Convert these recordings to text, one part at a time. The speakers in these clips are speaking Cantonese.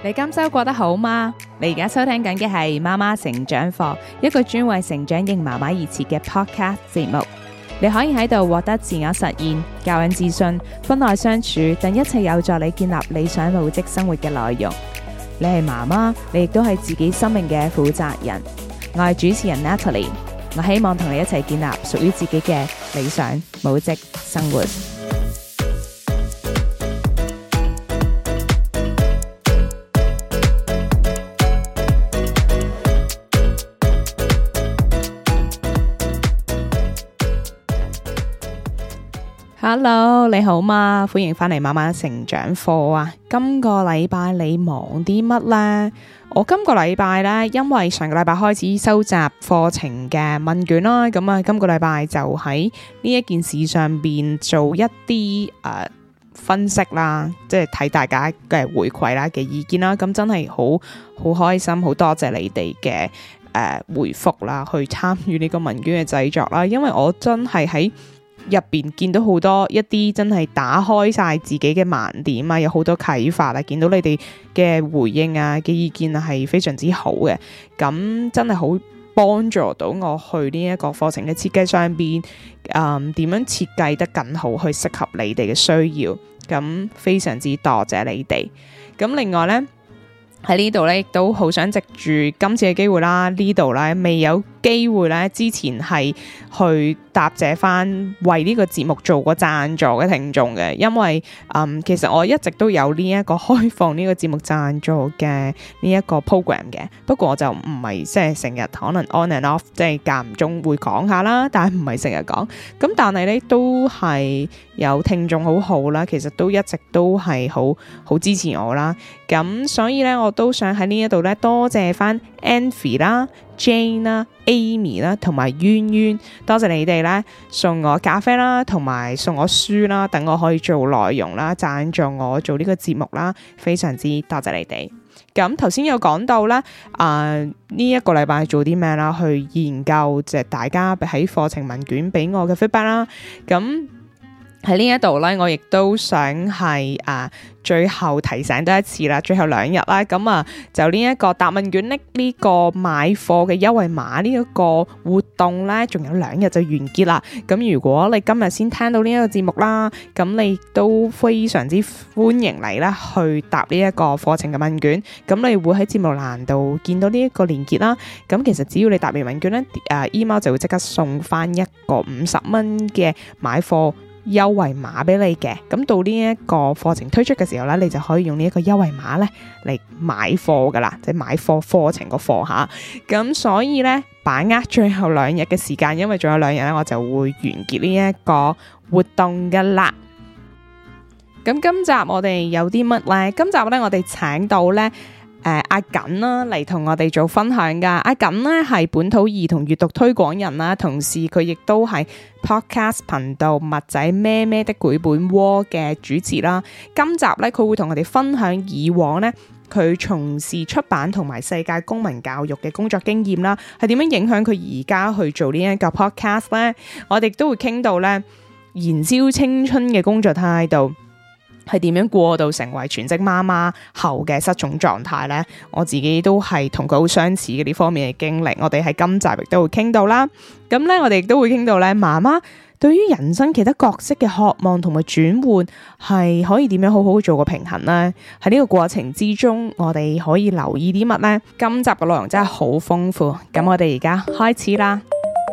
你今週過得好嗎？你而家收聽緊嘅係媽媽成長課，一個專為成長型媽媽而設嘅 podcast 節目。你可以喺度獲得自我實現、教養自信、婚內相處等一切有助你建立理想母職生活嘅內容。你係媽媽，你亦都係自己生命嘅負責人。我係主持人 Natalie， 我希望同你一齊建立屬於自己嘅理想母職生活。Hello， 你好嗎？歡迎返嚟媽媽成長課啊！今個禮拜你忙啲乜呢？我今個禮拜呢，因為上個禮拜開始收集課程嘅問卷啦，咁啊，今個禮拜就喺呢一件事上邊做一啲分析啦，即係睇大家嘅回饋啦嘅意見啦，咁真係好開心，好多謝你哋嘅回覆啦，去參與呢個問卷嘅製作啦，因為我真係喺入邊見到好多一啲真係打開晒自己嘅盲點啊，有好多啟發啊，見到你哋嘅回應啊嘅意見啊係非常之好嘅，咁真係好幫助到我去呢一個課程嘅設計上邊，點樣設計得更好，去適合你哋嘅需要，咁非常之多謝你哋。咁另外呢，喺呢度咧，亦都好想藉住今次嘅機會啦，呢度咧未有機會咧，之前係去答謝翻為呢個節目做過贊助嘅聽眾嘅，因為其實我一直都有呢一個開放呢個節目贊助嘅呢一個 program 嘅，不過我就唔係即係成日可能 on and off， 即係間唔中會講下啦，但係唔係成日講，咁但係咧都係有聽眾好好啦，其實都一直都係好支持我啦，咁所以咧我都想喺呢一度咧多謝翻 Angie 啦、Jane 啦、Amy 啦同埋淵淵，多謝你哋咧送我咖啡啦，同埋送我書啦，等我可以做內容啦，贊助我做呢個節目啦，非常之多謝你哋。咁頭先有講到咧，呢一個禮拜做啲咩啦？去研究即係大家喺課程問卷俾我嘅 feedback 啦。咁喺呢一度咧，我亦都想係最後提醒多一次啦，最後2日啦，咁就呢一個答問卷呢個買貨嘅優惠碼呢一個活動咧，仲有2日就完結啦。咁如果你今日先聽到呢一個節目啦，咁你都非常之歡迎你咧去答呢一個課程嘅問卷。咁你會喺節目欄度見到呢一個連結啦。咁其實只要你答完問卷咧，email 就會即刻送翻一個50蚊嘅買貨優惠碼俾你嘅，咁到呢一個課程推出嘅時候咧，你就可以用呢一個優惠碼咧嚟買貨噶啦，即係買貨課程個課吓。咁所以咧，把握最後2日嘅時間，因為仲有2日咧，我就會完結呢一個活動噶啦。咁今集我哋有啲乜咧？今集咧我哋請到咧阿瑾啦嚟同我哋做分享噶。阿瑾咧係本土兒童閱讀推廣人啦，同時佢亦都係 podcast 頻道麥仔咩咩的繪本窩嘅主持啦。今集咧佢會同我哋分享以往咧佢從事出版同埋世界公民教育嘅工作經驗啦，係點樣影響佢而家去做呢一個 podcast 咧？我哋都會傾到咧燃燒青春嘅工作態度係點樣過渡成為全職媽媽後嘅失重狀態呢？我自己都係同佢好相似嘅呢方面嘅經歷，我哋喺今集亦都會傾到啦。咁咧，我哋亦都會傾到咧，媽媽對於人生其他角色嘅渴望同埋轉換，係可以點樣好好做個平衡呢？喺呢個過程之中，我哋可以留意啲乜呢？今集嘅內容真係好豐富，咁我哋而家開始啦。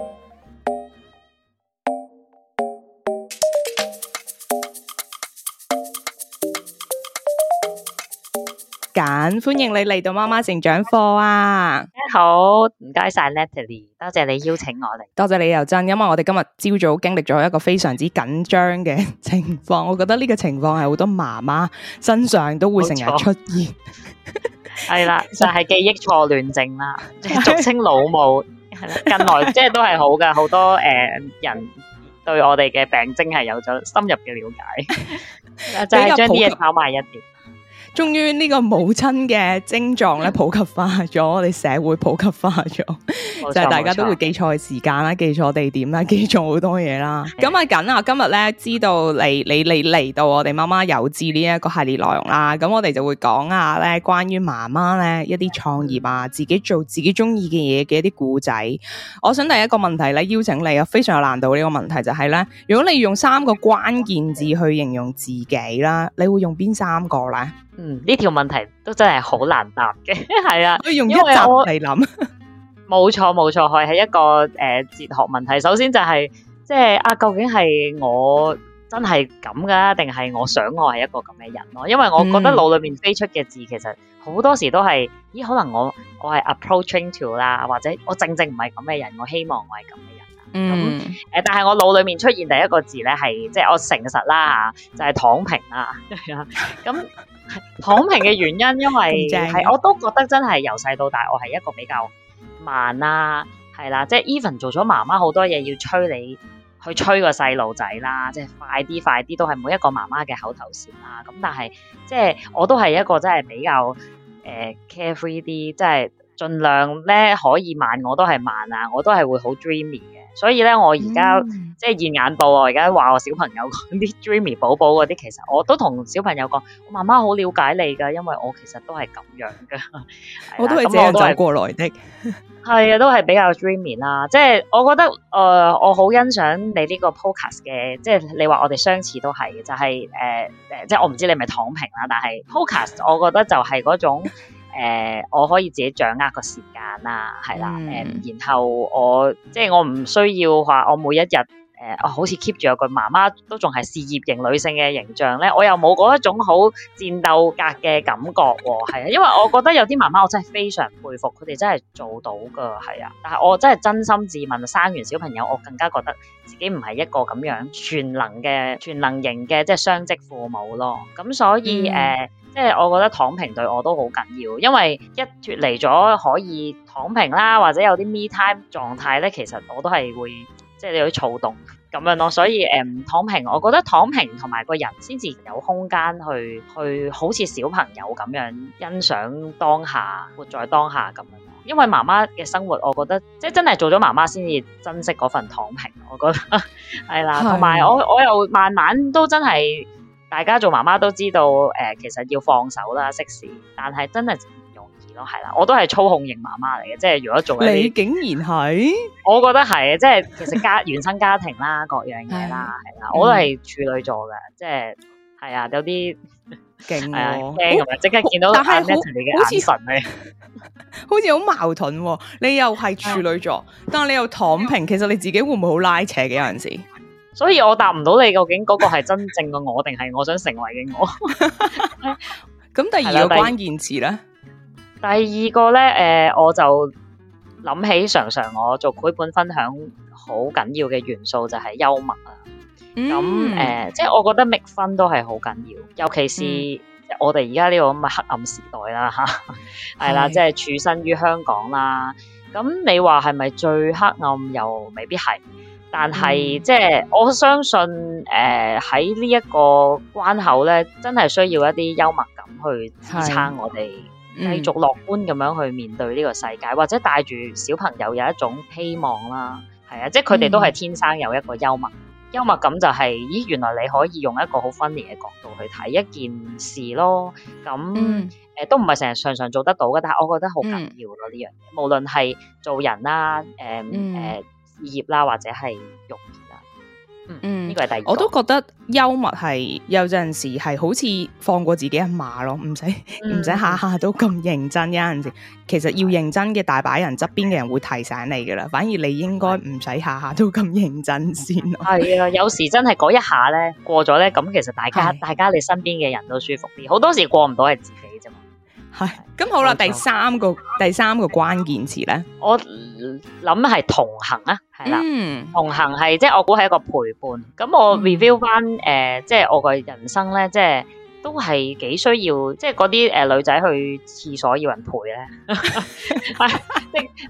瑾，歡迎你嚟到媽媽成長課啊！ 好，唔該晒 Natalie， 多謝你邀請我嚟。 多謝你又真，因為我哋今日朝早經歷咗一個非常之緊張嘅情況，我覺得呢個情況係好多媽媽身上都會成日出現。 係啦，就係記憶錯亂症啦，即係俗稱老母。係啦，近來即係都係好嘅，好多人對我哋嘅病徵係有咗深入嘅了解，就係將啲嘢炒埋一碟。 終於呢個母親嘅症狀咧普及化咗，我哋社會普及化咗，就係大家都會記錯時間啦，記錯地點啦，記錯好多嘢啦。咁啊緊啊，今日咧知道你嚟到我哋媽媽有志呢一個系列內容啦，咁我哋就會講下咧關於媽媽咧一啲創業啊，自己做自己中意嘅嘢嘅一啲故仔。我想第一個問題咧邀請你啊，非常有難度呢個問題就係咧，如果你用3個關鍵字去形容自己啦，你會用邊3個咧？ 呢條問題都真係好難答嘅，係啊， 我用一集嚟諗。 冇錯，係一個哲學問題。首先就係即係究竟係我真係咁噶，定係我想我係一個咁嘅人咯？因為我覺得腦裏面飛出嘅字，其實好多時都係，可能我係 approaching to 啦，或者我正唔係咁嘅人，我希望我係咁嘅人。但係我腦裏面出現第一個字咧，係即係我誠實啦吓，就係躺平啦。咁躺平嘅原因，因為係我都覺得真係由細到大，我係一個比較慢啦，係啦，即係 even 做咗媽媽好多嘢要催你去催個細路仔啦，即係快啲都係每一個媽媽嘅口頭禪啦。咁但係即係我都係一個真係比較carefree 啲，即係盡量咧可以慢我都係慢啊，我都係會好 dreamy 嘅。所以咧，我而家即係現眼報，我而家話我小朋友講啲 dreamy 寶寶嗰啲，其實我都同小朋友講，我媽媽好了解你噶，因為我其實都係咁樣噶， 我都係這樣走過來的。 係啊，都係比較 dreamy 啦。即係我覺得我好欣賞你呢個 podcast 嘅，即係你話我哋相似都係嘅，就係即係我唔知你係咪躺平啦，但係 podcast 我覺得就係嗰種。我可以自己掌握個時間啦，係啦，然後我即係我唔需要話我每一日好似 keep 住有個媽媽都仲係事業型女性嘅形象咧，我又冇嗰一種好戰鬥格嘅感覺喎，係啊，因為我覺得有啲媽媽我真係非常佩服，佢哋真係做到噶，係啊，但係我真係真心自問，生完小朋友我更加覺得自己唔係一個咁樣全能型嘅即係雙職父母咯，咁所以即係我覺得躺平對我都好緊要，因為一脫離咗可以躺平啦，或者有啲 me time 狀態咧，其實我都係會即係有啲躁動咁樣咯。所以躺平，我覺得躺平同埋個人先至有空間去好似小朋友咁樣欣賞當下，活在當下咁樣。因為媽媽嘅生活，我覺得即係真係做咗媽媽先至珍惜嗰份躺平。我覺得係啦，同埋我又慢慢都真係。大家做媽媽都知道，其實要放手啦，適時，但係真係唔容易咯，係啦，我都係操控型媽媽嚟嘅，即係如果做你竟然係， 我覺得係，即係其實原生家庭啦，各樣嘢啦，係啦，我都係處女座嘅，即係係啊，有啲勁係啊，驚咁樣，即刻見到但係你嘅眼神咧， 好似好矛盾喎，你又係處女座，但係你又躺平，其實你自己會唔會好拉扯嘅有陣時？ 所以我答唔到你究竟嗰個係真正嘅我定係我想成為嘅我。 咁第二個關鍵詞咧？ 第二個咧，我就諗起常常我做繪本分享好緊要嘅元素就係幽默啊。咁即係我覺得make fun都係好緊要，尤其是我哋而家呢個咁嘅黑暗時代啦嚇，係啦，即係處身於香港啦。咁你話係咪最黑暗？又未必係。但係即係我相信喺呢一個關口咧，真係需要一啲幽默感去支撐我哋繼續樂觀咁樣去面對呢個世界，或者帶住小朋友有一種希望啦。係啊，即係佢哋都係天生有一個幽默感，就係咦，原來你可以用一個好 funny 嘅角度去睇一件事咯。咁都唔係成日常常做得到嘅，但係我覺得好緊要咯呢樣嘢，無論係做人啦，事業啦，或者係育兒啦，呢個係第二個。我都覺得幽默係有陣時係好似放過自己一馬咯，唔使下下都咁認真。有陣時其實要認真嘅大把人側邊嘅人會提醒你噶啦，反而你應該唔使下下都咁認真先咯。係啊， 有時真係嗰一下咧過咗咧，咁其實大家你身邊嘅人都舒服啲。好多時過唔到係自己啫嘛。 係，咁好啦，第三個關鍵詞咧， 我諗係同行啊，係啦，同行係即係我估係一個陪伴。咁我 review 翻即係我個人生咧，即係都係幾需要，即係嗰啲女仔去廁所要人陪咧，係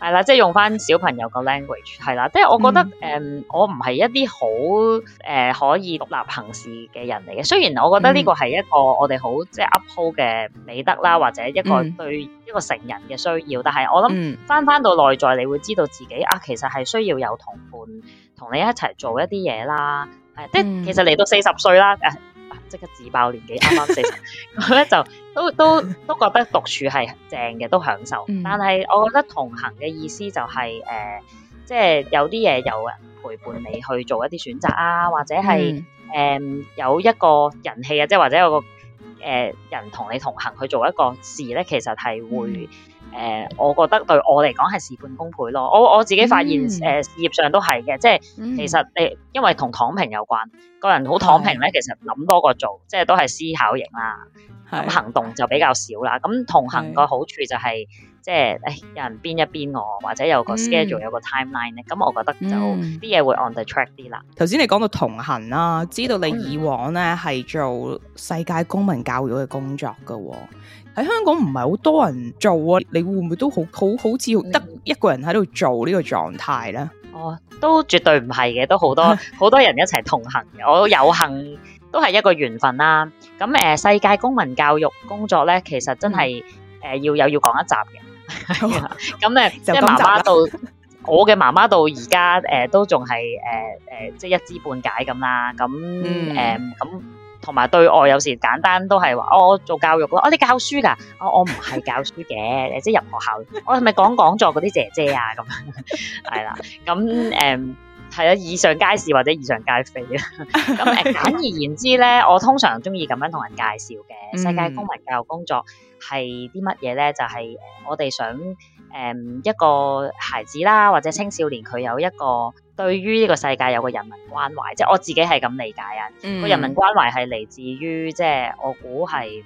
係啦，即係用翻小朋友個 language 係啦，即係我覺得我唔係一啲好可以獨立行事嘅人嚟嘅。雖然我覺得呢個係一個我哋好即係 uphold 嘅美德啦，或者一個對一個成人嘅需要，但係我諗翻到內在，你會知道自己啊，其實係需要有同伴同你一齊做一啲嘢啦。即係其實嚟到40歲啦。即刻自爆年紀，啱啱40，咁咧就都覺得獨處係正嘅，都享受。但係我覺得同行嘅意思就係即係有啲嘢有人陪伴你去做一啲選擇啊，或者係有一個人氣啊，即係或者有個人同你同行去做一個事咧，其實係會我覺得對我嚟講係事半功倍咯。我自己發現事業上都係嘅，即係其實因為同躺平有關，個人好躺平咧，其實諗多過做，即係都係思考型啦，咁行動就比較少啦。咁同行個好處就係即係有人鞭一鞭我，或者有個 schedule 有個 timeline 咧，咁我覺得就啲嘢會 on the track 啲啦。 頭先你講到同行啦，知道你以往咧係做世界公民教育嘅工作噶喎。喺香港唔係好多人做啊，你會唔會都好似得一個人喺度做呢個狀態咧？ 都絕對唔係嘅，都好多人一齊同行嘅。我有幸都係一個緣分啦。咁世界公民教育工作咧，其實真係要講一集嘅。咁即係媽媽到我嘅媽媽到而家都仲係即係一知半解咁啦。咁咁。同埋對外有時簡單都係話我做教育咯，你教書㗎？我唔係教書嘅，即係入學校，我係咪講座嗰啲姐姐啊？咁係啦，咁係啊，以上皆是或者以上皆非啊。咁簡而言之咧，我通常中意咁樣同人介紹嘅世界公民教育工作係啲乜嘢咧？就係我哋想一個孩子啦，或者青少年佢有一個對於呢個世界有個人民關懷，即係我自己係咁理解啊。個人民關懷係嚟自於即係我估係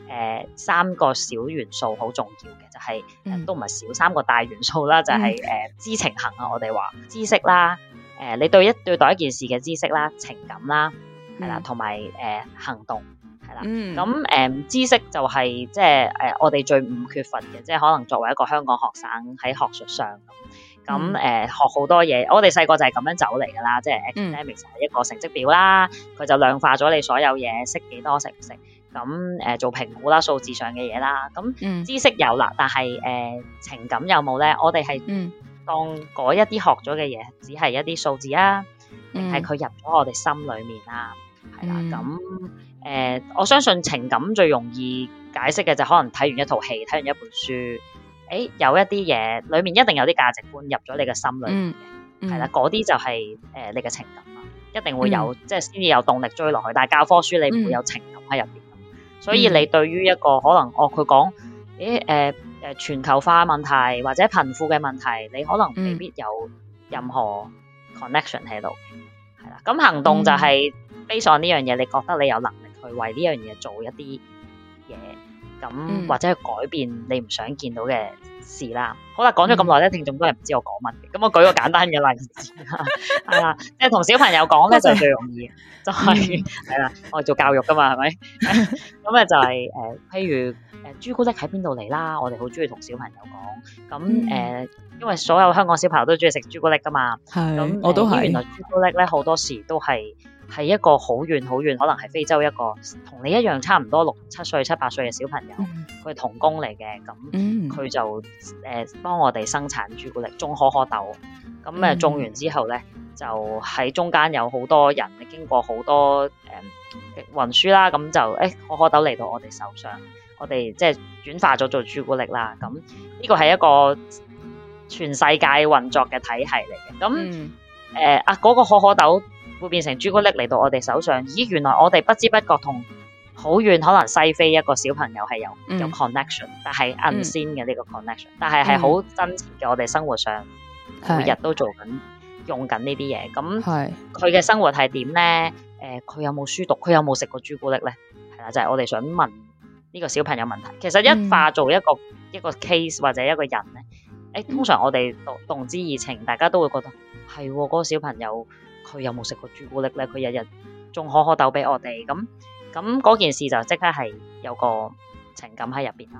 3個小元素好重要嘅，就係都唔係少3個大元素啦，就係知情行啊，我哋話知識啦，你對待一件事嘅知識啦、情感啦，係啦，同埋行動。咁知識就係即係我哋最唔缺乏嘅，即係可能作為一個香港學生喺學術上咁學好多嘢。我哋細個就係咁樣走嚟㗎啦，即係 academics 係一個成績表啦，佢就量化咗你所有嘢，識幾多識唔識，咁做評估啦，數字上嘅嘢啦。咁知識有啦，但係情感有冇咧？我哋係當嗰一啲學咗嘅嘢，只係一啲數字啊，定係佢入咗我哋心裡面啊？係啦，咁我相信情感最容易解釋嘅就可能睇完一套戲，睇完一本書，有一啲嘢裏面一定有啲價值觀入咗你嘅心裏面嘅，係啦，嗰啲就係你嘅情感啦，一定會有，即係先至有動力追落去。但係教科書你唔會有情感喺入邊，所以你對於一個可能佢講全球化問題或者貧富嘅問題，你可能未必有任何 connection 喺度，係啦。咁行動就係based on呢樣嘢，你覺得你有能力去為呢樣嘢做一啲嘢，咁或者去改變你唔想見到嘅事啦。好啦，講咗咁耐咧，聽眾都係唔知我講乜嘅。咁我舉個簡單嘅例子啦，係啦，即係同小朋友講咧就最容易，就係係啦，我哋做教育噶嘛，係咪？咁咧就係譬如朱古力喺邊度嚟啦？我哋好中意同小朋友講。咁因為所有香港小朋友都中意食朱古力噶嘛，咁我都係。原來朱古力咧好多時都係一個好遠好遠，可能係非洲一個同你一樣差唔多6、7歲、7、8歲嘅小朋友，佢係童工嚟嘅，咁佢就幫我哋生產朱古力，種可可豆，咁種完之後咧，就喺中間有好多人經過好多運輸啦，咁就可可豆嚟到我哋手上，我哋即係轉化咗做朱古力啦。咁呢個係一個全世界運作嘅體系嚟嘅。咁嗰個可可豆會變成朱古力嚟到我哋手上，咦？原來我哋不知不覺同好遠可能西非一個小朋友係有 connection，但係 unseen 嘅呢個 connection，但係好真切嘅。我哋生活上每日都做緊用緊呢啲嘢，咁佢嘅生活係點咧？佢有冇書讀？佢有冇食過朱古力咧？係啦，就係我哋想問呢個小朋友問題。其實一化做一個 case 或者一個人咧，通常我哋動之以情，大家都會覺得係嗰個小朋友佢有冇食過朱古力咧？佢日日種可可豆俾我哋，咁嗰件事就即刻係有個情感喺入邊啦。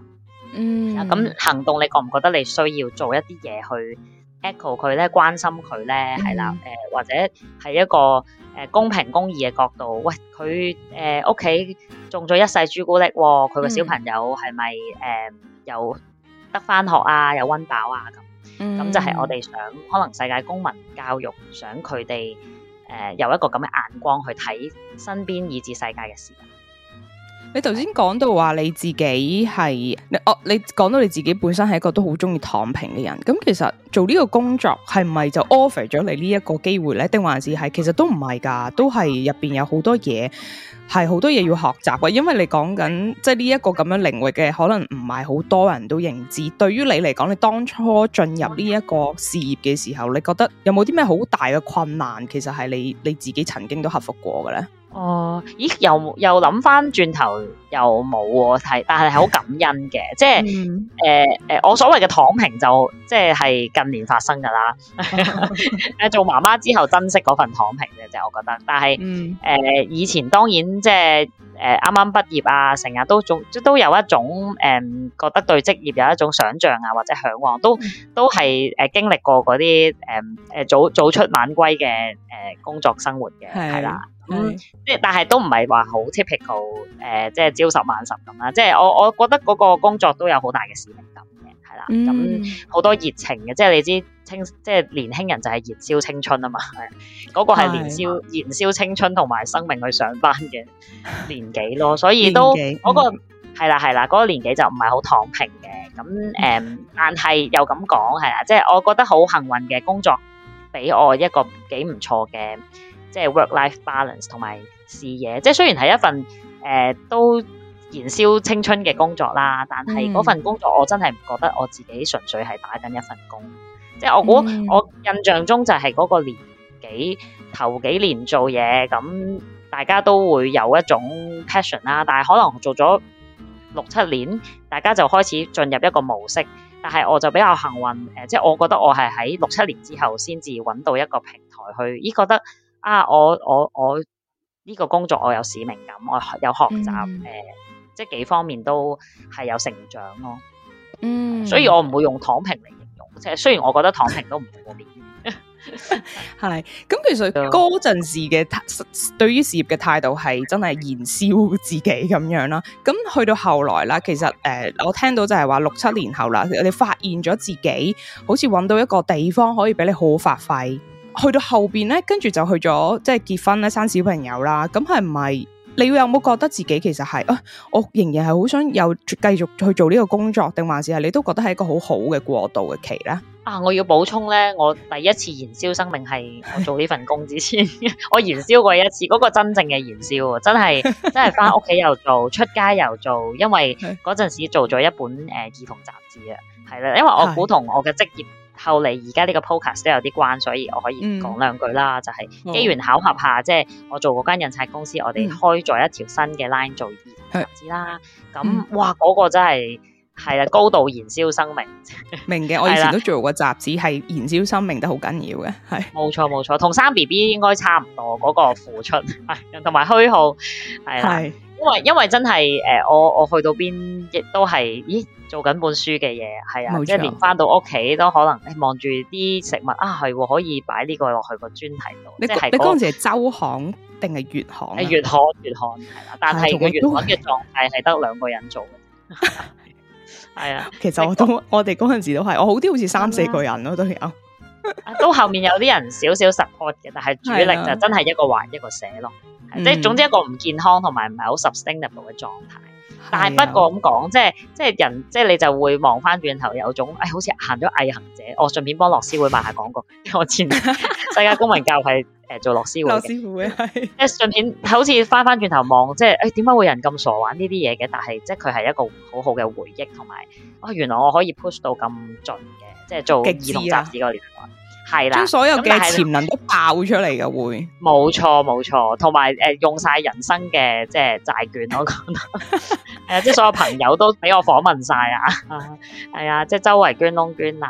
咁行動你覺唔覺得你需要做一啲嘢去 echo 佢咧，關心佢咧？係啦，或者係一個公平公義嘅角度，喂，佢屋企種咗一世朱古力喎，佢個小朋友係咪又得返學啊，又溫飽啊咁就係我哋想可能世界公民教育，想佢哋有一個咁嘅眼光去睇身邊以至世界嘅事。 你頭先講到話你自己係你講到你自己本身係一個都好中意躺平嘅人，咁其實做呢個工作係唔係就 offer 咗你呢一個機會咧？定還是係其實都唔係㗎，都係入邊有好多嘢係好多嘢要學習嘅，因為你講緊即係呢一個咁樣領域嘅，可能唔係好多人都認知。對於你嚟講，你當初進入呢一個事業嘅時候，你覺得有冇啲咩好大嘅困難？其實係你自己曾經都克服過嘅咧？ 咦，又諗翻轉頭又冇喎，但係好感恩嘅，即係我所謂嘅躺平就即係近年發生噶啦。做媽媽之後珍惜嗰份躺平嘅啫，我覺得。但係以前當然即係啱啱畢業啊，成日都有一種覺得對職業有一種想像啊或者嚮往，都係經歷過嗰啲早出晚歸嘅工作生活嘅，係啦。即係但係都唔係話好 typical 即係朝十晚十咁啦。即係我覺得嗰個工作都有好大嘅使命感嘅，係啦。咁好多熱情嘅，即係你知即係年輕人就係燃燒青春啊嘛，係嗰個係燃燒青春同埋生命去上班嘅年紀咯，所以都嗰個係啦嗰個年紀就唔係好躺平嘅。咁但係又咁講係啦，即係我覺得好幸運嘅工作俾我一個幾唔錯嘅。即係 work-life balance 同埋視野，即係雖然係一份都燃燒青春嘅工作啦，但係嗰份工作我真係唔覺得我自己純粹係打緊一份工。即係我估我印象中就係嗰個年紀頭幾年做嘢，咁大家都會有一種 passion 啦，但係可能做咗6-7年，大家就開始進入一個模式。但係我就比較幸運，即係我覺得我係喺6-7年之後先至揾到一個平台去，覺得我呢個工作我有使命感，我有學習，即係幾方面都係有成長咯。所以我唔會用躺平嚟形容，即係雖然我覺得躺平都唔過面。 係咁，其實嗰陣時嘅對於事業嘅態度係真係燃燒自己咁樣啦。咁去到後來啦，其實我聽到就係話6-7年後啦，你發現咗自己好似揾到一個地方可以俾你好好發揮。去到後邊咧，跟住就去咗即係結婚咧，生小朋友啦。咁係唔係你有冇覺得自己其實係我仍然係好想有繼續去做呢個工作，定還是係你都覺得係一個好好嘅過渡嘅期咧？ 我要補充咧，我第一次燃燒生命係我做呢份工之前，我燃燒過一次，嗰個真正嘅燃燒，真係翻屋企又做，出街又做，因為嗰陣時做咗一本兒童雜誌啊，係啦，因為我估同我嘅職業。後嚟而家呢個 podcast 都有啲關，所以我可以講兩句啦。就係機緣巧合下，即係我做嗰間印刷公司，我哋開咗一條新嘅 line 做兒童雜誌啦。咁哇，嗰個真係啦，高度燃燒生命。明嘅，我以前都做過雜誌，係燃燒生命都好緊要嘅。係冇錯，同生 BB 應該差唔多嗰個付出，同埋虛耗係啦。因為真係我去到邊亦都係做緊本書嘅嘢，係啊，即係連翻到屋企都可能望住啲食物係可以擺呢個落去個專題度。你嗰陣時係週刊定係月刊？月刊係啦，但係個月刊嘅狀態係得2個人做嘅。係啊，其實我哋嗰陣時都係，我好啲好似3-4個人咯都有。 都後面有啲人少少 support 嘅，但係主力就真係一個畫一個寫咯。即係總之一個唔健康同埋唔係好 sustainable 嘅狀態。但係不過咁講，即係人，即係你就會望翻轉頭有種好似行咗毅行者。我順便幫樂施會賣下廣告。我前世界公民教係做樂施會嘅。樂施會係即係順便好似翻轉頭望，即係點解會有人咁傻玩呢啲嘢嘅？但係即係佢係一個好好嘅回憶，同埋原來我可以 push 到咁盡嘅，即係做兒童雜誌嗰個年代。係啦，將所有嘅潛能都爆出嚟嘅會，冇錯，同埋用晒人生嘅即係債券，我覺得即係所有朋友都俾我訪問晒啊，係啊，即係周圍捐窿捐罅咁。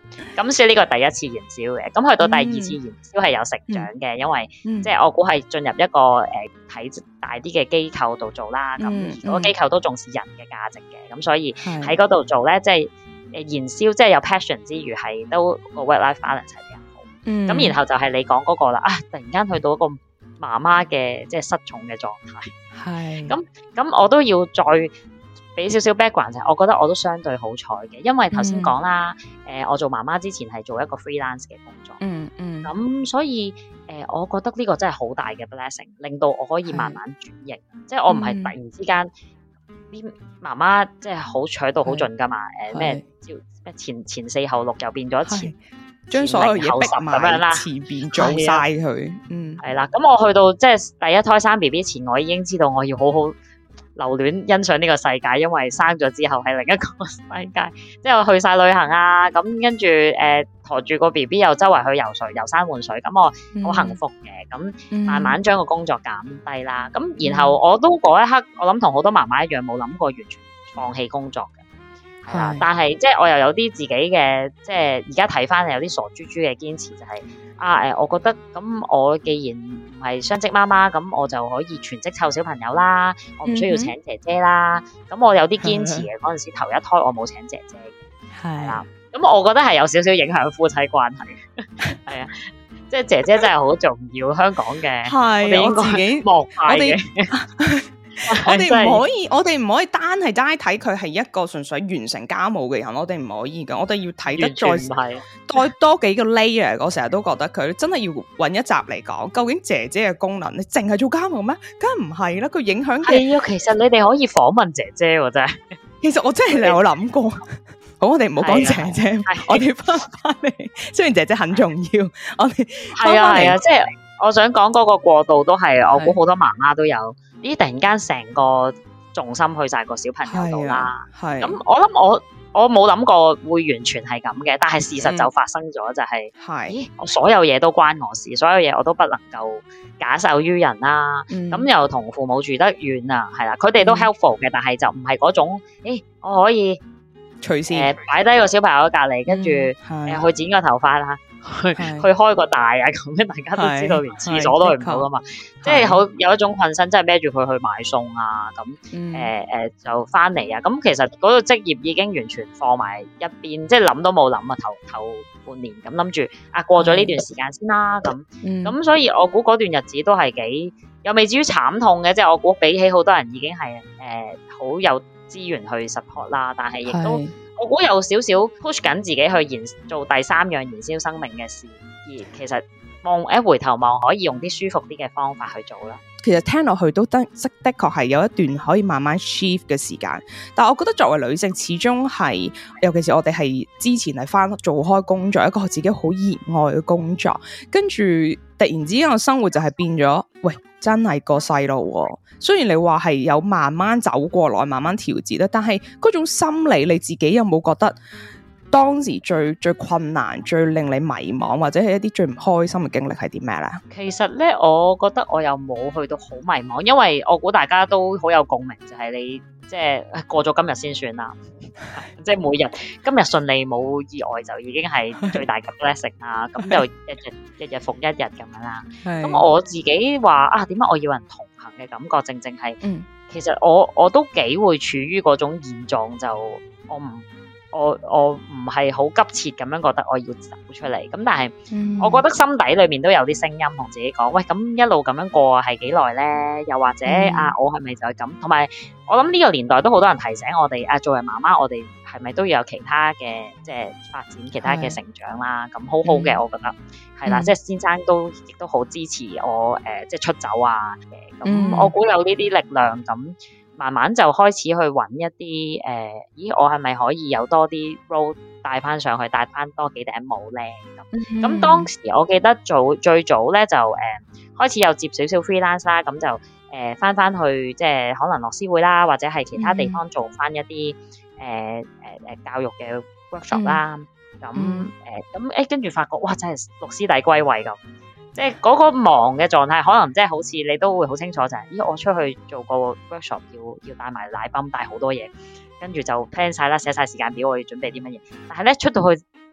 咁所以呢個第一次燃燒嘅，咁去到第二次燃燒係有成長嘅，因為即係我估係進入一個體大啲嘅機構度做啦，咁而嗰個機構都重視人嘅價值嘅，咁所以喺嗰度做咧，即係燃燒，即係有 passion 之餘係都個 work-life balance 係比較好。咁然後就係你講嗰個啦，突然間去到一個媽媽嘅即係失重嘅狀態，係咁我都要再俾少少 background，就係我覺得我都相對好彩嘅，因為頭先講啦，我做媽媽之前係做一個 freelance 嘅工作，咁所以我覺得呢個真係好大嘅 blessing， 令到我可以慢慢轉型，即係我唔係突然之間啲媽媽即係好取到好盡噶嘛，咩前4後6又變咗前。 將所有嘢逼埋前邊做晒佢， 係啦。咁我去到即係第一胎生 B B 前，我已經知道我要好好留戀欣賞呢個世界，因為生咗之後係另一個世界。即係我去晒旅行啊，咁跟住馱住個 B B 又周圍去游水、遊山玩水，咁我好幸福嘅。咁慢慢將個工作減低啦。咁然後我都嗰一刻，我諗同好多媽媽一樣，冇諗過完全放棄工作嘅。係啦，但係即係我又有啲自己嘅，即係而家睇翻有啲傻豬豬嘅堅持，就係我覺得咁我既然唔係雙職媽媽，咁我就可以全職湊小朋友啦，我唔需要請姐姐啦。咁我有啲堅持嘅，嗰陣時頭一胎我冇請姐姐嘅，係啦。咁我覺得係有少少影響夫妻關係，係啊，即係姐姐真係好重要，香港嘅係我自己莫派嘅。 我哋唔可以單睇佢係一個純粹完成家務嘅人，我哋唔可以噶，我哋要睇得再多幾個 layer。我成日都覺得佢真係要揾一集嚟講，究竟姐姐嘅功能，你淨係做家務咩？梗係唔係啦，佢影響嘅。 係啊，其實你哋可以訪問姐姐喎，真係。 其實我真係有諗過。好，我哋唔好講姐姐，我哋翻嚟。雖然姐姐很重要，我哋係啊，即係我想講嗰個過渡都係，我估好多媽媽都有。咦！突然間成個重心去晒個小朋友度啦，咁我諗我冇諗過會完全係咁嘅，但係事實就發生咗，就係咦！我所有嘢都關我事，所有嘢我都不能夠假手於人啦。咁又同父母住得遠啊，係啦，佢哋都 helpful 嘅，但係就唔係嗰種，我可以隨時擺低個小朋友喺隔離，跟住去剪個頭髮啦。去開個大啊，咁樣大家都知道，連廁所都去唔到噶嘛，即係好有一種困身，即係孭住佢去買餸啊，咁就翻嚟啊，咁其實嗰個職業已經完全放埋一邊，即係諗都冇諗啊，頭半年咁諗住過咗呢段時間先啦，咁所以我估嗰段日子都係幾又未至於慘痛嘅，即係我估比起好多人已經係好有資源去 support 啦，但係亦都。我估有少少 push 緊自己去做第3樣燃燒生命嘅事，而其實回頭望可以用啲舒服啲嘅方法去做啦。 其實聽落去都的確係有一段可以慢慢 shift 嘅時間，但係我覺得作為女性，始終係尤其是我哋係之前係做開工作，一個自己好熱愛嘅工作，跟住突然之間個生活就係變咗，喂，真係個細路喎。雖然你話係有慢慢走過來，慢慢調節啦，但係嗰種心理你自己有冇覺得當時最困難、最令你迷茫或者係一啲最唔開心嘅經歷係啲咩咧？ 其實咧，我覺得我又冇去到好迷茫，因為我估大家都好有共鳴，就係你即係過咗今日先算啦，即係每日今日順利冇意外就已經係最大嘅 blessing 啦。咁就日日復一日咁樣啦。咁我自己話點解我要人同行嘅感覺，正正係其實我都幾會處於嗰種現狀，就我唔係好急切咁樣覺得我要走出嚟，咁但係我覺得心底裏面都有啲聲音同自己講，喂，咁一路咁樣過係幾耐咧？又或者我係咪就係咁？同埋我諗呢個年代都好多人提醒我哋作為媽媽，我哋係咪都要有其他嘅即係發展、其他嘅成長啦？咁好好嘅，我覺得係啦，即係先生亦都好支持我即係出走啊嘅，咁我估有呢啲力量咁。慢慢就開始去揾一啲我係咪可以有多啲 role 帶翻上去，帶翻多幾頂帽咧？咁當時我記得最早咧就開始有接少少 freelance 啦，咁就翻去即係可能樂施會啦，或者係其他地方做翻一啲教育嘅 workshop 啦。咁跟住發覺哇，真係六師弟歸位咁。即係嗰個忙嘅狀態，可能即係好似你都會好清楚就係，我出去做個 workshop 要帶埋奶泵，帶好多嘢，跟住就 plan 晒啦，寫晒時間表，我要準備啲乜嘢。但係咧出到去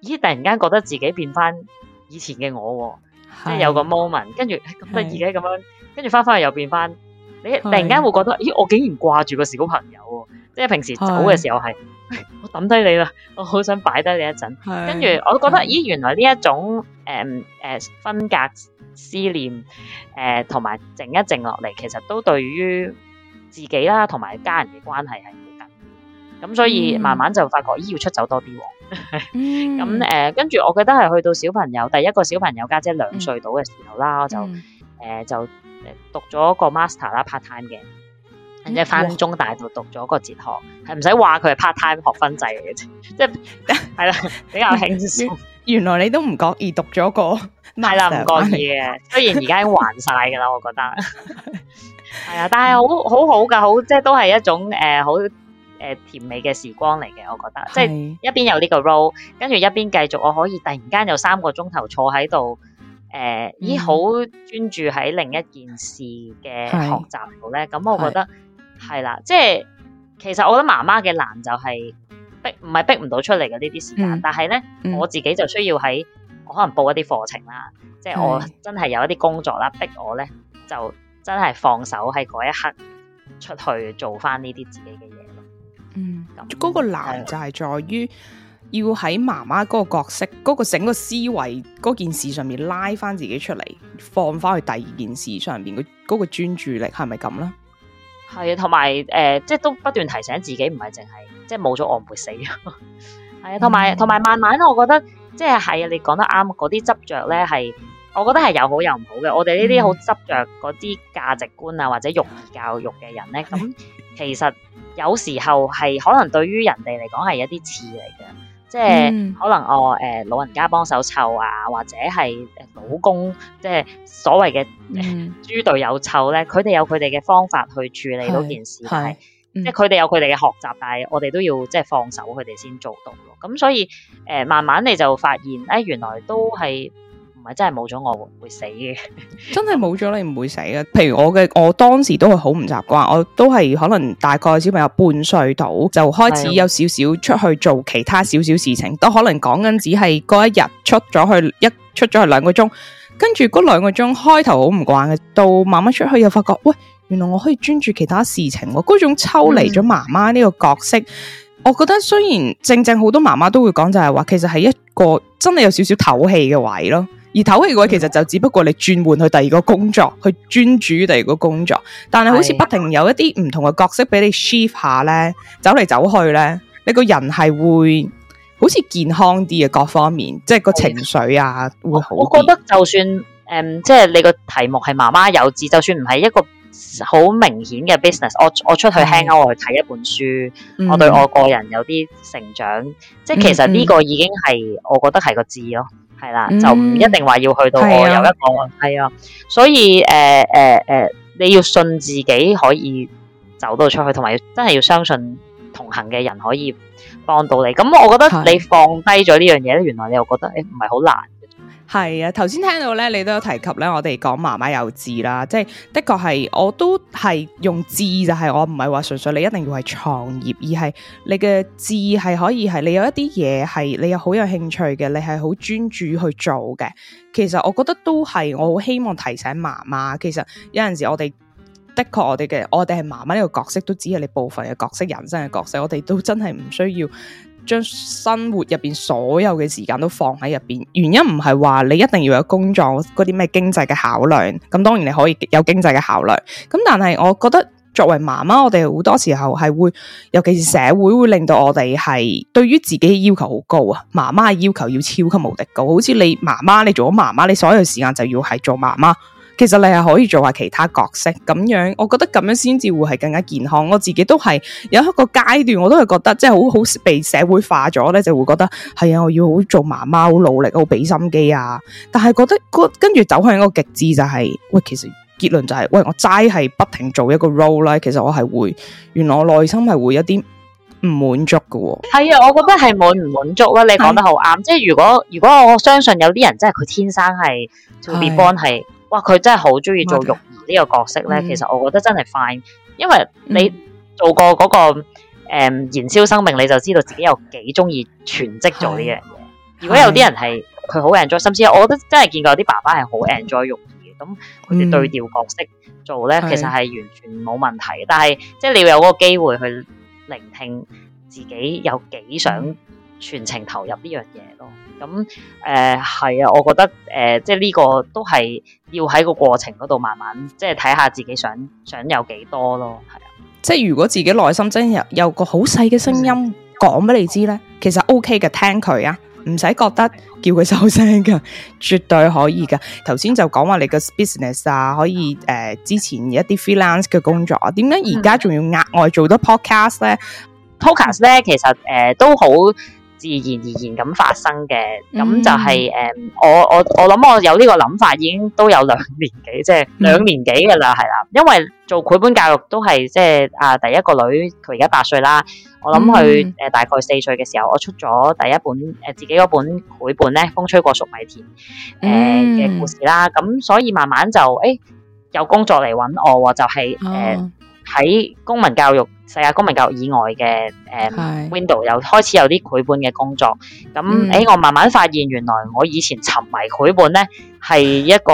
咦突然間覺得自己變翻以前嘅我喎，即係有個 moment， 跟住咁得意嘅咁樣，跟住翻去又變翻，你突然間會覺得咦我竟然掛住個小朋友喎，即係平時走嘅時候係我抌低你啦，我好想擺低你一陣，跟住我覺得咦原來呢一種分隔思念同埋靜一靜落嚟，其實都對於自己啦同埋家人嘅關係係好緊要，咁所以慢慢就發覺咦要出走多啲喎。咁跟住我記得係去到小朋友第一個小朋友家姐2歲到嘅時候啦，我就就讀咗個 master 啦 part time 嘅，即係翻中大度讀咗個哲學，係唔使話佢係 part time 學分制嚟嘅啫，即係係啦比較輕鬆。 原來你都唔覺意讀咗個 master， 係啦唔覺意嘅，雖然而家已經還晒㗎啦，我覺得係啊，但係好好㗎，好即係都係一種好甜美嘅時光嚟嘅，我覺得即係一邊有呢個 role， 跟住一邊繼續我可以突然間有3個鐘頭坐喺度，咦好專注喺另一件事嘅學習度咧，咁我覺得係啦，即係其實我覺得媽媽嘅難就係唔係逼唔到出嚟嘅呢啲時間，但係咧我自己就需要喺我可能報一啲課程啦，即係我真係有一啲工作啦，逼我咧就真係放手喺嗰一刻出去做翻呢啲自己嘅嘢咯。 嗰個難就係在於要喺媽媽嗰個角色、嗰個整個思維嗰件事上面拉翻自己出嚟，放翻去第二件事上邊嗰個專注力，係咪咁咧？係啊， 同埋即係都不斷提醒自己，唔係淨係即係冇咗我唔會死。係啊，同埋慢慢，我覺得即係啊，你講得啱，嗰啲執着咧係，我覺得係有好有唔好嘅。我哋呢啲好執着嗰啲價值觀啊，或者育兒教育嘅人咧，咁其實有時候係可能對於人哋嚟講係一啲刺嚟嘅，即係可能老人家幫手湊啊，或者係老公即係所謂嘅豬隊友湊咧，佢哋有佢哋嘅方法去處理嗰件事，但係即係佢哋有佢哋嘅學習，但係我哋都要即係放手佢哋先做到咯。咁所以慢慢你就發現原來都係唔係真係冇咗我會死嘅，真係冇咗你唔會死嘅。 譬如我當時都係好唔習慣，我都係可能大概小朋友半歲到就開始有少少出去做其他少少事情，都可能講緊只係嗰一日出咗去2個鐘，跟住嗰2個鐘開頭好唔慣嘅，到慢慢出去又發覺喂，原來我可以專注其他事情，嗰種抽離咗媽媽呢個角色。我覺得雖然正好多媽媽都會講就係話，其實係一個真係有少少唞氣嘅位咯。而唞氣嘅位其實就只不過你轉換去第二個工作，去專注於第二個工作，但係好似不停有一啲唔同嘅角色俾你 shift 下咧，走嚟走去咧，你個人係會好似健康啲嘅各方面，即係個情緒啊會好啲。我覺得就算即係你個題目係媽媽有志，就算唔係一個好明顯嘅 business， 我出去 hang out， 我去睇一本書，我對我個人有啲成長，即係其實呢個已經係我覺得係個志咯。係啦，就唔一定話要去到我有一個係啊，所以你要信自己可以走到出去，同埋真係要相信同行嘅人可以幫到你。咁我覺得你放低咗呢樣嘢咧，原來你又覺得唔係好難。係啊，頭先聽到咧，你都有提及咧，我哋講媽媽有志啦，即係的確係，我都係用志，就係我唔係話純粹你一定要係創業，而係你嘅志係可以係你有一啲嘢係你有好有興趣嘅，你係好專注去做嘅。其實我覺得都係，我好希望提醒媽媽，其實有陣時我哋的確我哋係媽媽呢個角色，都只係你部分嘅角色，人生嘅角色，我哋都真係唔需要將生活入邊所有嘅時間都放喺入邊，原因唔係話你一定要有工作嗰啲咩經濟嘅考量，咁當然你可以有經濟嘅考量，咁但係我覺得作為媽媽，我哋好多時候係會，尤其是社會會令到我哋係對於自己要求好高啊，媽媽嘅要求要超級無敵高，好似你媽媽，你做咗媽媽，你所有時間就要係做媽媽。其實你係可以做下其他角色咁樣，我覺得咁樣先至會係更加健康。我自己都係有一個階段，我都係覺得即係好被社會化咗咧，就會覺得係啊，我要好做媽媽，好努力，好俾心機啊。但係覺得跟住走向一個極致就係，喂，其實結論就係，喂，我齋係不停做一個 role 咧，其實我係會，原來我內心係會有啲唔滿足㗎。係啊，我覺得係滿唔滿足啦。你講得好啱，即係如果我相信有啲人真係佢天生係 to be born 係。哇！佢真係好中意做育兒呢個角色咧，其實我覺得真係 fine，因為你做過嗰個燃燒生命，你就知道自己有幾中意全職做呢樣嘢。 如果有啲人係佢好 enjoy，甚至我覺得真係見過有啲爸爸係好 enjoy 育兒嘅，咁佢哋對調角色做咧，其實係完全冇問題嘅。但係即係你要有嗰個機會去聆聽自己有幾想全程投入呢樣嘢咯。咁係啊，我覺得即係呢個都係要喺個過程嗰度慢慢即係睇下自己想有幾多咯，係啊。 即係如果自己內心真係有個好細嘅聲音講俾你知咧，其實 OK 嘅，聽佢啊，唔使覺得叫佢收聲噶，絕對可以噶。頭先就講話你個 business 啊，可以之前一啲 freelance 嘅工作啊，點解而家仲要額外做多 podcast 咧 ？podcast 咧其實都好自然而然咁發生嘅，咁就係我諗我有呢個諗法已經都有2年幾，即係2年幾噶啦，係啦。因為做繪本教育都係即係第一個女佢而家8歲啦，我諗佢大概4歲嘅時候，我出咗第一本自己嗰本繪本咧，風吹過粟米田嘅故事啦。咁所以慢慢就有工作嚟揾我，就係喺公民教育世界公民教育以外嘅window 又開始有啲繪本嘅工作，咁我慢慢發現原來我以前沉迷繪本咧係一個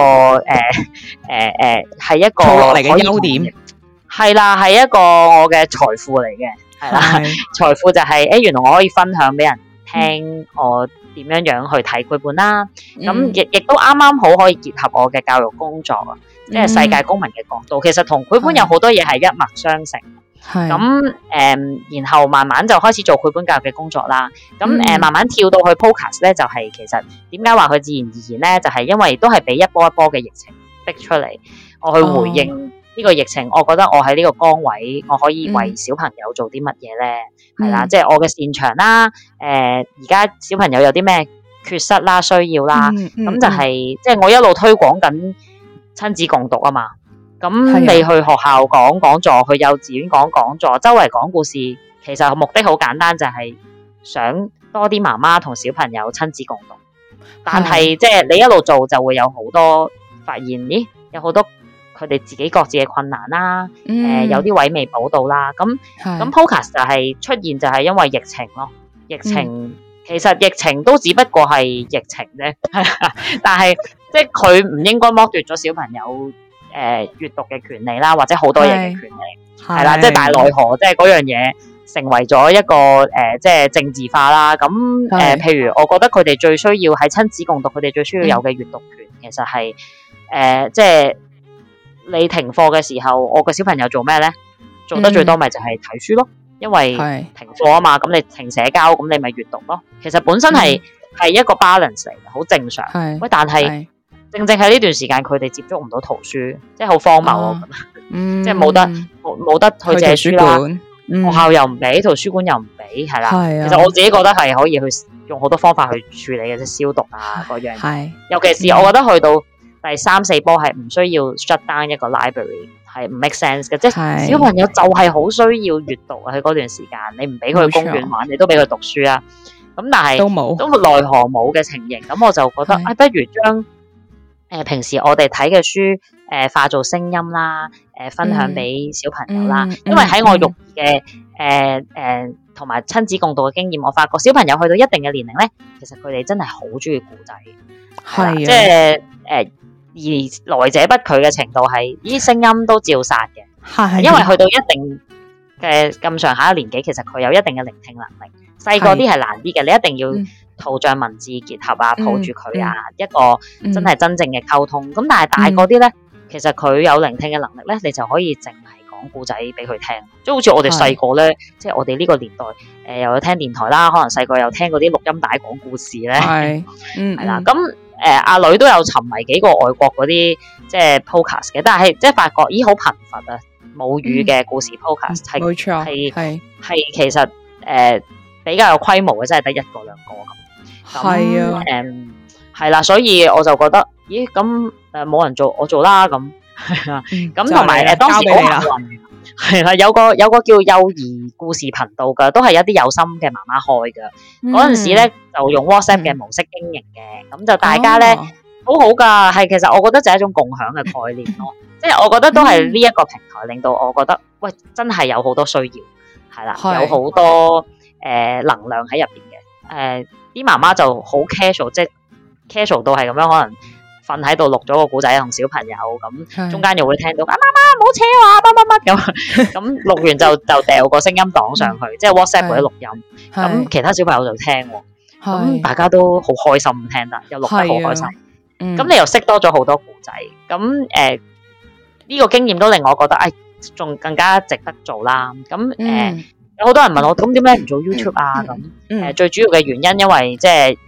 係一個落嚟嘅優點， 係啦，係一個我嘅財富嚟嘅，係啦，財富就係原來我可以分享俾人聽我點樣去睇繪本啦，咁亦都啱啱好可以結合我嘅教育工作啊，即係世界公民嘅角度，其實同繪本有好多嘢係一脈相承。咁然後慢慢就開始做繪本教育嘅工作啦。咁慢慢跳到去 podcast 咧，就係其實點解話佢自然而然咧，就係因為都係俾一波一波嘅疫情逼出嚟，我去回應呢個疫情。我覺得我喺呢個崗位，我可以為小朋友做啲乜嘢咧？係啦，即係我嘅擅長啦。而家小朋友有啲咩缺失啦、需要啦，咁就係即係我一路推廣緊親子共讀啊嘛。咁你去學校講講座，去幼稚園講講座，周圍講故事，其實目的好簡單，就係想多啲媽媽同小朋友親子共讀。但係即係你一路做就會有好多發現，咦，有好多佢哋自己各自嘅困難啦，有啲位未補到啦。咁 podcast 就係出現就係因為疫情咯，疫情其實疫情都只不過係疫情啫，但係即係佢唔應該剝奪咗小朋友閱讀嘅權利啦，或者好多嘢嘅權利係啦，即係但係奈何即係嗰樣嘢成為咗一個即係政治化啦。咁譬如我覺得佢哋最需要喺親子共讀，佢哋最需要有嘅閱讀權，其實係即係你停課嘅時候，我個小朋友做咩咧？做得最多咪就係睇書咯，因為停課啊嘛，咁你停社交，咁你咪閱讀咯。其實本身係一個 balance 嚟嘅，好正常。喂，但係正喺呢段時間，佢哋接觸唔到圖書，即係好荒謬咯。即係冇得去借書啦，學校又唔俾，圖書館又唔俾，係啦。其實我自己覺得係可以去用好多方法去處理嘅，即係消毒啊嗰樣。尤其是我覺得去到第3、4波係唔需要 shut down 一個 library， 係唔 make sense 嘅。即係小朋友就係好需要閱讀啊！喺嗰段時間，你唔俾佢去公園玩，你都俾佢讀書啊。咁但係都奈何冇嘅情形，咁我就覺得不如將平時我哋睇嘅書化做聲音啦，分享俾小朋友啦。因為喺我育兒嘅同埋親子共讀嘅經驗，我發覺小朋友去到一定嘅年齡咧，其實佢哋真係好中意故仔，係即係而來者不拒嘅程度係，呢啲聲音都照殺嘅，因為去到一定嘅咁上下嘅年紀，其實佢有一定嘅聆聽能力。細個啲係難啲嘅，你一定要圖像文字結合啊，抱住佢啊，一個真係真正嘅溝通。咁但係大個啲咧，其實佢有聆聽嘅能力咧，你就可以淨係講故仔俾佢聽。即係好似我哋細個咧，即係我哋呢個年代，又有聽電台啦，可能細個有聽嗰啲錄音帶講故事咧，係啦。咁阿女都有沉迷幾個外國嗰啲即係 podcast 嘅，但係即係發覺咦好貧乏啊，母語嘅故事 podcast 冇錯， 係其實比較有規模嘅，真係得1個2個咁。係啊，係啦，所以我就覺得，咦，咁冇人做，我做啦咁。咁同埋當時好幸運，係啦，有個叫幼兒故事頻道㗎，都係一啲有心嘅媽媽開㗎。嗰陣時咧就用 WhatsApp 嘅模式經營嘅，咁就大家咧好好㗎。係其實我覺得就係一種共享嘅概念咯。即係我覺得都係呢一個平台令到我覺得，喂，真係有好多需要，係啦，有好多能量喺入邊嘅， 啲媽媽就好 casual， 即係 casual 到係咁樣，可能瞓喺度錄咗個故仔同小朋友咁，中間又會聽到媽媽唔好扯我啊乜乜乜咁，咁錄完就掉個聲音檔上去，即係 WhatsApp 嗰啲錄音，咁其他小朋友就聽喎，咁大家都好開心聽得，又錄得好開心，咁你又識多咗好多故仔，咁呢個經驗都令我覺得仲更加值得做啦，咁有好多人問我，咁點解唔做 YouTube 啊？咁最主要嘅原因，因為即係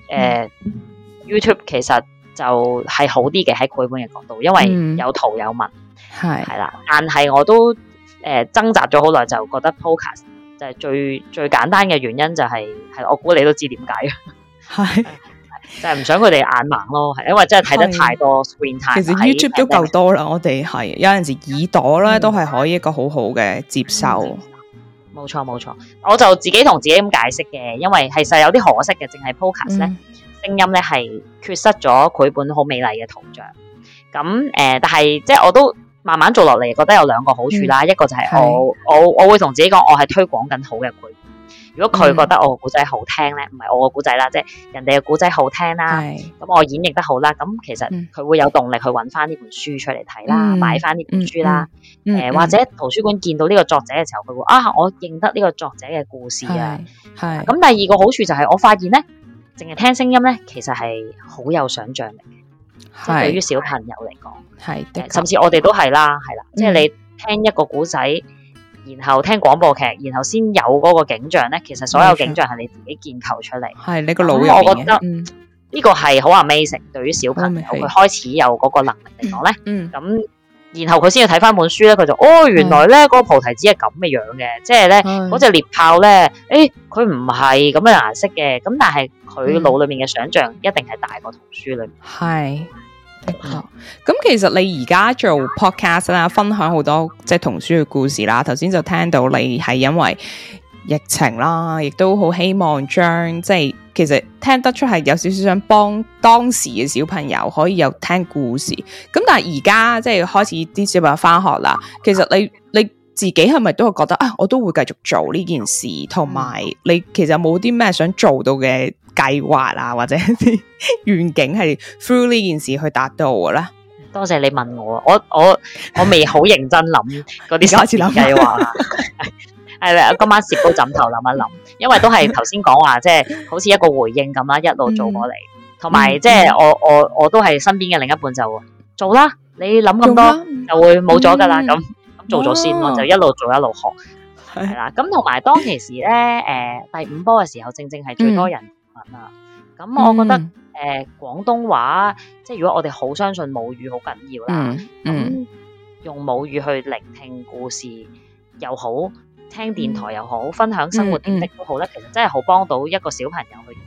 YouTube 其實就係好啲嘅喺繪本嘅角度，因為有圖有文，係啦。但係我都掙扎咗好耐，就覺得 Podcast 就係最簡單嘅原因就係我估你都知點解嘅，就係唔想佢哋眼盲咯，係因為真係睇得太多 screen time。其實 YouTube 都夠多啦，我哋係有陣時耳朵咧都係可以一個好好嘅接受。 冇錯，我就自己同自己咁解釋嘅，因為其實有啲可惜嘅，淨係 Podcast 咧，聲音咧係缺失咗繪本好美麗嘅圖像。咁但係即係我都慢慢做落嚟，覺得有兩個好處啦。一個就係我會同自己講，我係推廣緊好嘅繪本。如果佢覺得我個故仔好聽咧，唔係我個故仔啦，即係人哋嘅故仔好聽啦，咁我演繹得好啦，咁其實佢會有動力去揾翻呢本書出嚟睇啦，買翻呢本書啦，或者圖書館見到呢個作者嘅時候，佢會我認得呢個作者嘅故事啊。咁第二個好處就係我發現咧，淨係聽聲音咧，其實係好有想像力嘅，即係對於小朋友嚟講，甚至我哋都係啦，即係你聽一個故仔。然後聽廣播劇，然後先有嗰個景象咧。其實所有景象係你自己建構出嚟， 係你個腦入面嘅。 我覺得呢個係好 amazing，對於小朋友佢開始有嗰個能力嚟講咧。咁然後佢先要睇翻本書咧，佢就原來咧嗰個菩提子係咁嘅樣嘅，即係咧嗰隻獵豹咧，佢唔係咁嘅顏色嘅，咁但係佢腦裏面嘅想像一定係大過圖書裏面。 係。咁其實你而家做 podcast 啦，分享好多即係童書嘅故事啦。頭先就聽到你係因為疫情啦，亦都好希望將即係其實聽得出係有少少想幫當時嘅小朋友可以有聽故事。咁但係而家即係開始啲小朋友翻學啦，其實你自己係咪都會覺得我都會繼續做呢件事，同埋你其實有冇啲咩想做到嘅計劃啊，或者啲願景係 through 呢件事去達到嘅咧？ 多謝你問我，我未好認真諗嗰啲實踐計劃，係啦，今晚攝高枕頭諗一諗，因為都係頭先講話，即係好似一個回應咁啦，一路做過嚟，同埋即係我都係身邊嘅另一半就做啦，你諗咁多就會冇咗噶啦，咁做咗先咯，就一路做一路學，係啦，咁同埋當其時咧，第5波嘅時候，正係最多人問啊，咁我覺得廣東話，即係如果我哋好相信母語好緊要啦，咁用母語去聆聽故事又好，聽電台又好，分享生活點滴都好咧，其實真係好幫到一個小朋友去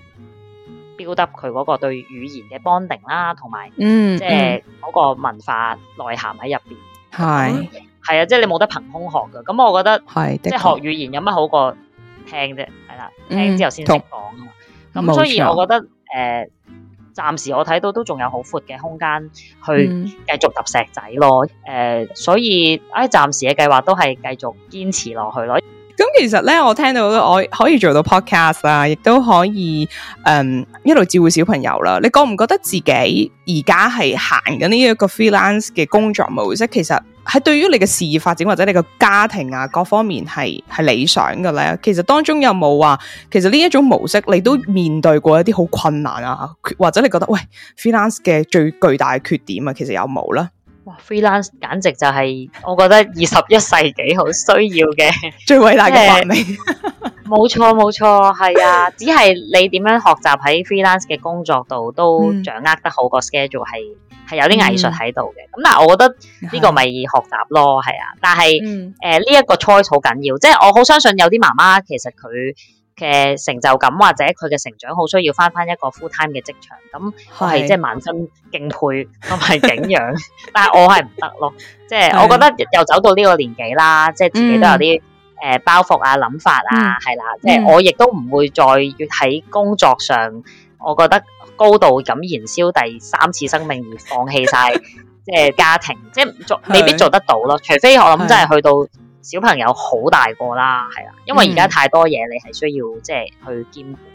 build up佢嗰個對語言嘅 bonding 啦，同埋即係嗰個文化內涵喺入邊。係啊，即係你冇得憑空學噶。咁我覺得即係學語言有乜好過聽啫，係啦，聽之後先識講啊嘛。咁所以我覺得暫時我睇到都仲有好闊嘅空間去繼續揼石仔咯。所以暫時嘅計劃都係繼續堅持落去咯。 咁其實咧，我聽到我可以做到 podcast 啦，亦都可以一路照顧小朋友啦。你覺唔覺得自己而家係行緊呢一個 freelance 嘅工作模式？其實係對於你嘅事業發展或者你嘅家庭啊各方面係理想嘅咧？其實當中有冇話，其實呢一種模式你都面對過一啲好困難啊，或者你覺得喂 freelance 嘅最巨大嘅缺點啊，其實有冇咧？ 哇 freelance 簡直就係我覺得21世紀好需要嘅最偉大嘅發明。 冇錯，係啊，只係你點樣學習喺 freelance 嘅工作度都掌握得好個 schedule 係有啲藝術喺度嘅。咁但係我覺得呢個咪學習咯，係啊。但係呢一個 choice 好緊要，即係我好相信有啲媽媽其實佢嘅成就感或者佢嘅成長好需要翻一個 full time 嘅職場，咁我係即係萬分敬佩同埋景仰，但係我係唔得咯，即係我覺得又走到呢個年紀啦，即係自己都有啲包袱啊諗法啊，係啦，即係我亦都唔會再喺工作上，我覺得高度咁燃燒第3次生命而放棄晒即係家庭，即係未必做得到咯，除非我諗真係去到小朋友好大個啦，係啦，因為而家太多嘢你係需要即係去兼顧。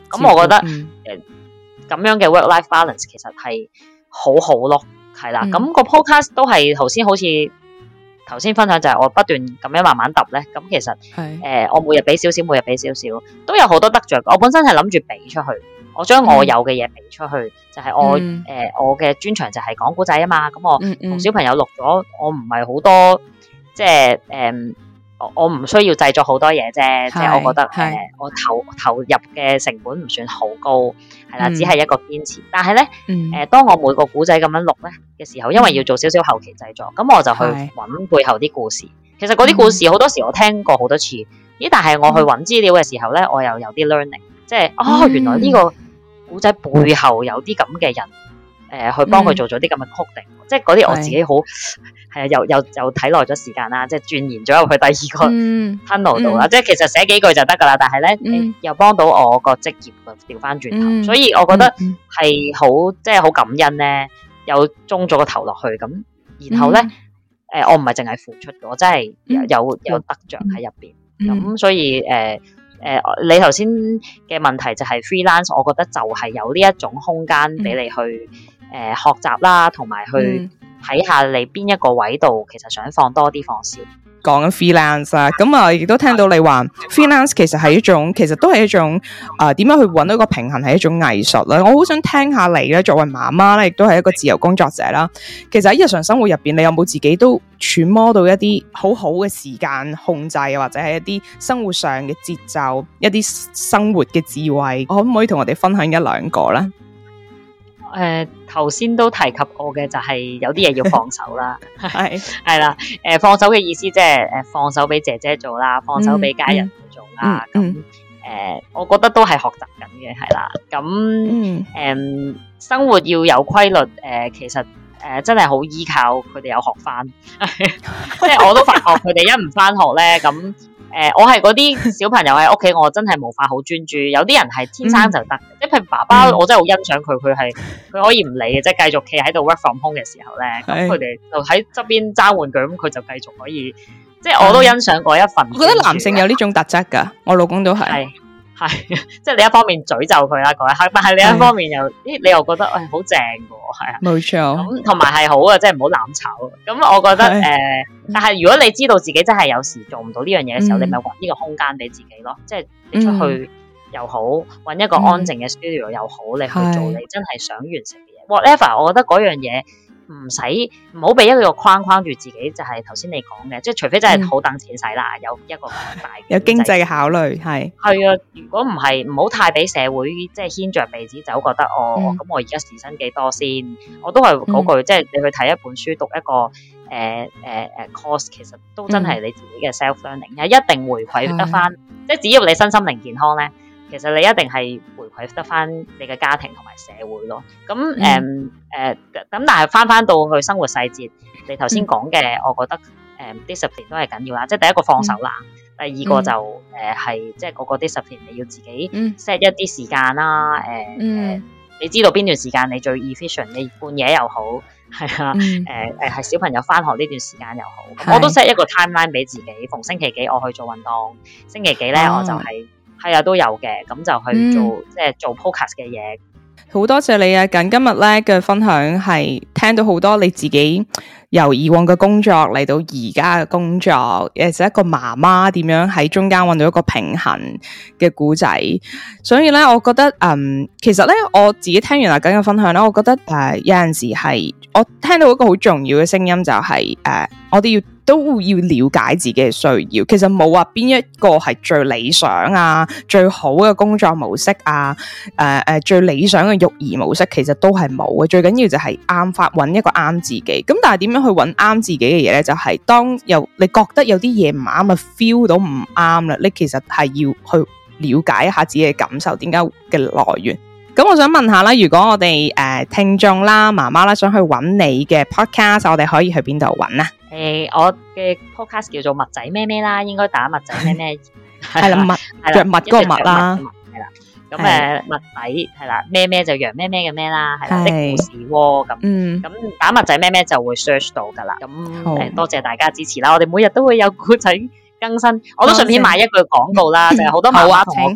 咁我覺得咁樣嘅 work-life balance 其實係好好咯，係啦。咁個 podcast 都係頭先分享就係我不斷咁樣慢慢揼咧，咁其實我每日俾少少，都有好多得着。我本身係諗住俾出去，我將我有嘅嘢俾出去，就係我嘅專長就係講古仔啊嘛。咁我同小朋友錄咗，我唔係好多，即係我唔需要製作好多嘢啫。即係我覺得我投入嘅成本唔算好高，係啦，只係一個堅持。但係咧，當我每個古仔咁樣錄咧嘅時候，因為要做少少後期製作，咁我就去揾背後啲故事。其實嗰啲故事好多時我聽過好多次，但係我去揾資料嘅時候咧，我又有啲 learning， 即係原來呢個古仔背後有啲咁嘅人，去幫佢做咗啲咁嘅 coding，即係嗰啲我自己好係啊，又睇耐咗時間啦，即係鑽研咗入去第二個 tunnel 度啦。即係其實寫幾句就得噶啦，但係咧又幫到我個職業調翻轉頭，所以我覺得係好即係好感恩咧，又中咗個頭落去咁，然後咧我唔係淨係付出嘅，我真係有得着喺入邊，咁所以你頭先嘅問題就係 freelance， 我覺得就係有呢一種空間俾你去學習啦，同埋去睇下你邊一個位度其實想放多啲放少。 講緊 freelance 啊，咁啊亦都聽到你話 freelance 其實係一種，其實都係一種點樣去揾到一個平衡係一種藝術啦。我好想聽下你咧，作為媽媽咧，亦都係一個自由工作者啦。其實喺日常生活入邊，你有冇自己都揣摩到一啲好好嘅時間控制，或者係一啲生活上嘅節奏，一啲生活嘅智慧？可唔可以同我哋分享一兩個咧？ 頭先都提及過嘅就係有啲嘢要放手啦，係啦，放手嘅意思即係放手俾姐姐做啦，放手俾家人去做啦，咁我覺得都係學習緊嘅，係啦，咁生活要有規律，其實真係好依靠佢哋有學翻，即係我都發覺佢哋一唔翻學咧咁。我係嗰啲小朋友喺屋企，我真係無法好專注。有啲人係天生就得，即係譬如爸爸，我真係好欣賞佢，佢可以唔理嘅，即係繼續企喺度 work from home 嘅時候咧，咁佢哋就喺側邊爭玩具，咁佢就繼續可以，即係我都欣賞嗰一份。我覺得男性有呢種特質㗎，我老公都係。 係，即係你一方面詛咒佢啦嗰一刻，但係另一方面又，你又覺得好正嘅喎，係啊， 冇錯。 咁同埋係好嘅，即係唔好攬炒。咁我覺得但係如果你知道自己真係有時做唔到呢樣嘢嘅時候，你咪揾呢個空間俾自己咯。即係你出去又好，揾一個安靜嘅 studio 又好，你去做你真係想完成嘅嘢。Whatever，我覺得嗰樣嘢。唔好俾一個框框住自己，就係頭先你講嘅，即係除非真係好等錢使啦，有一個大有經濟嘅考慮，係啊。如果唔係，唔好太俾社會即係牽着鼻子走，覺得咁我而家時薪幾多先？我都係嗰句，即係你去睇一本書，讀一個course， 其實都真係你自己嘅 self learning，一定回饋得翻。即係只要你身心靈健康咧，其實你一定係回饋得翻你嘅家庭同埋社會咯。咁咁但係翻到去生活細節，你頭先講嘅，我覺得discipline 都係緊要啦。即係第一個放手啦，第二個就係即係嗰個 discipline 你要自己 set 一啲時間啦。你知道邊段時間你最 efficient， 你半夜又好，係啊，係小朋友翻學呢段時間又好，我都 set 一個 timeline 俾自己，逢星期幾我去做運動，星期幾咧我就係啊都有嘅，咁就去做即係做 podcast 嘅嘢。 好多謝你啊！今日咧嘅分享係聽到好多你自己由以往嘅工作嚟到而家嘅工作，誒，係一個媽媽點樣喺中間揾到一個平衡嘅故仔。所以咧，我覺得其實咧我自己聽完阿緊嘅分享咧，我覺得有陣時係我聽到一個好重要嘅聲音，就係我哋都要了解自己嘅需要。其實冇話邊一個係最理想啊，最好嘅工作模式啊，最理想嘅育兒模式，其實都係冇嘅。最緊要就係揾一個啱自己。咁但係點樣去揾啱自己嘅嘢咧？就係當你覺得有啲嘢唔啱啊 ，feel 到唔啱啦，你其實係要去了解一下自己嘅感受，點解嘅來源。咁我想問下啦，如果我哋聽眾啦、媽媽啦想去揾你嘅 podcast， 我哋可以去邊度揾啊？ 我嘅 podcast 叫做麥仔咩咩啦，應該打麥仔咩咩係啦，藥物嗰個麥啦， 係啦。咁麥仔係啦，咩咩就羊咩咩嘅咩啦，係啦，的故事窩咁。咁打麥仔咩咩就會 search 到噶啦。咁多謝大家支持啦，我哋每日都會有故仔更新。我都順便賣一句廣告啦，就係好多媽媽同我講。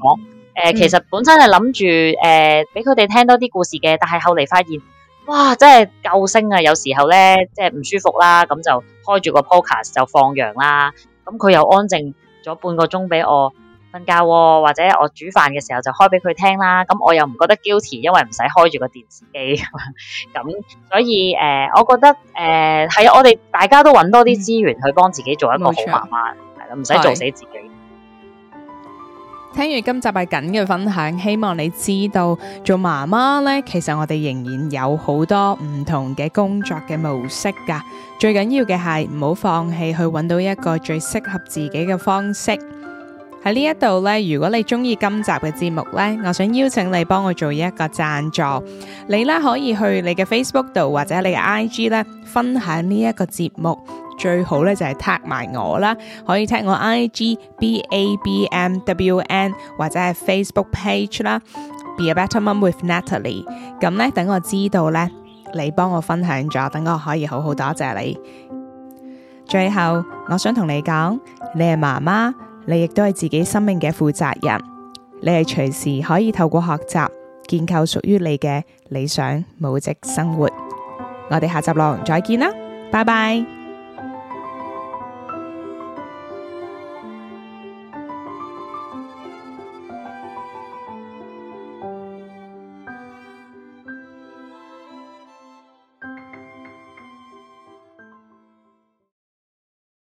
其實本身係諗住俾佢哋聽多啲故事嘅，但係後嚟發現，哇，真係救星啊！有時候咧，即係唔舒服啦，咁就開住個 podcast 就放羊啦，咁佢又安靜咗半個鐘俾我瞓覺喎，或者我煮飯嘅時候就開俾佢聽啦，咁我又唔覺得 guilty，因為唔使開住個電視機，咁所以我覺得係啊，我哋大家都揾多啲資源去幫自己做一個好媽媽，係啦，唔使做死自己。 聽完今集係緊嘅分享，希望你知道做媽媽呢，其實我哋仍然有好多唔同嘅工作嘅模式噶。最緊要嘅係唔好放棄去揾到一個最適合自己嘅方式。喺呢一度呢，如果你中意今集嘅節目呢，我想邀請你幫我做一個贊助。你呢可以去你嘅 Facebook 度或者你嘅 IG 呢分享呢一個節目。最好咧就係 tag 埋我啦，可以 tag 我 IG BABMWN 或者係 Facebook page 啦 Be a Better Mom with Natalie。 咁咧等我知道咧你幫我分享咗，等我可以好好多謝你。最後我想同你講，你係媽媽，你亦都係自己生命嘅負責人，你係隨時可以透過學習建構屬於你嘅理想母職生活。我哋下集內容再見啦，拜拜。